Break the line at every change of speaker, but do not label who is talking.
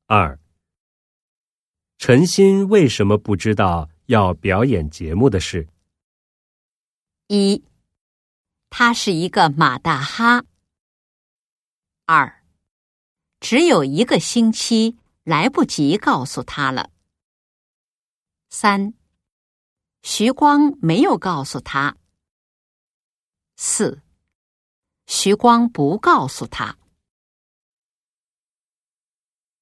2. 陈鑫为什么不知道要表演节目的事
？1. 他是一个马大哈。2. 只有1个星期，来不及告诉他了。3. 徐光没有告诉他。4. 徐光不告诉他。